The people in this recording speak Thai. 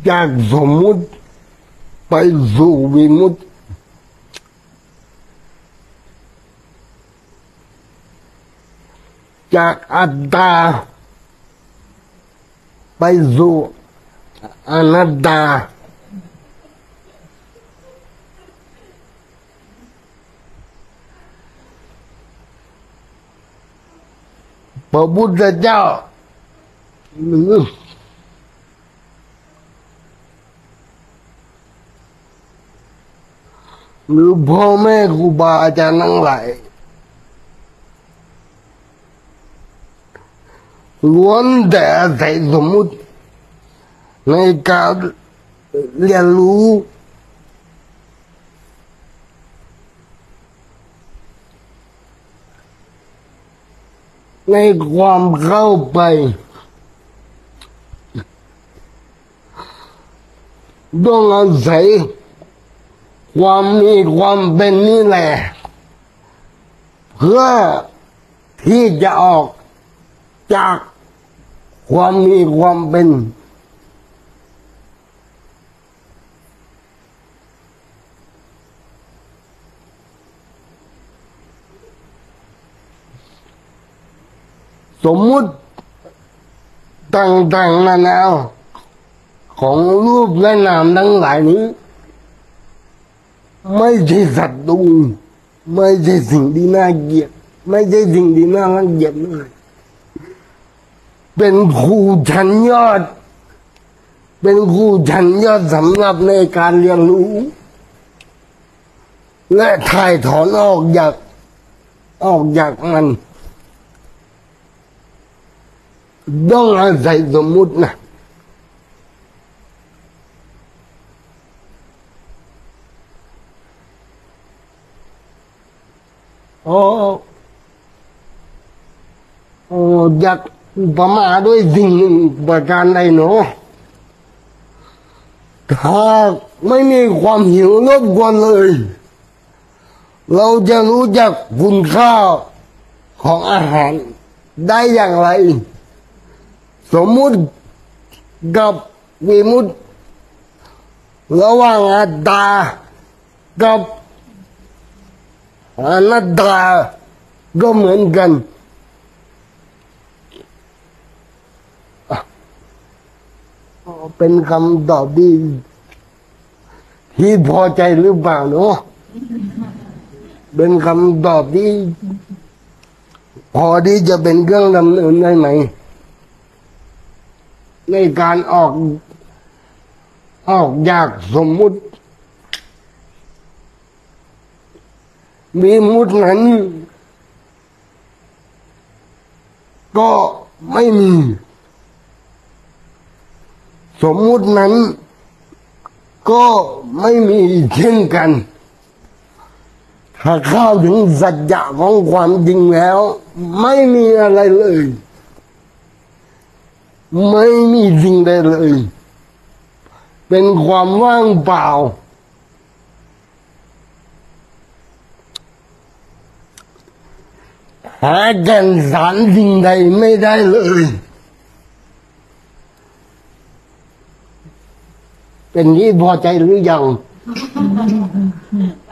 จากสมมุติไปสู่วิมุตติจากอัตตาไปสู่อนัตตาพระพุทธเจ้าหรือพ่อแม่ครูบาอาจารย์ทั้งหลายล้วนแต่อาศัยสมมุติในการเรียนรู้ในความเข้าไปต้องอาศัยความมีความเป็นนี่แหละเพื่อที่จะออกจากความมีความเป็นสมมุติต่างๆนานาของรูปและนามทั้งหลายนี้ไม่ใช่ศัตรูไม่ใช่สิ่งที่น่าเกลียดไม่ใช่สิ่งที่น่ารังเกียจเลยเป็นครูชั้นยอดเป็นครูชั้นยอดสำหรับในการเรียนรู้และถ่ายถอนออกจากมันต้องอาศัยสมมุตินะอยากประมาทด้วยสิ่งหนึ่งประการใดเนาะถ้าไม่มีความหิวรบกวนเลยเราจะรู้จักคุณค่าของอาหารได้อย่างไรสมมุติกับวิมุตติระหว่างอัตตากับอนัตตาก็เหมือนกันเป็นคำตอบที่พอใจหรือเปล่าเนาะเป็นคำตอบที่พอที่จะเป็นเครื่องดำเนินได้ไหมในการออกจากสมมุติวิมุตตินั้นก็ไม่มีสมมุตินั้นก็ไม่มีเช่นกันถ้าเข้าถึงสัจจะของความจริงแล้วไม่มีอะไรเลยไม่มีสิ่งใดเลยเป็นความว่างเปล่าหาแก่นสารสิ่งใดไม่ได้เลยเป็นที่พอใจหรือยัง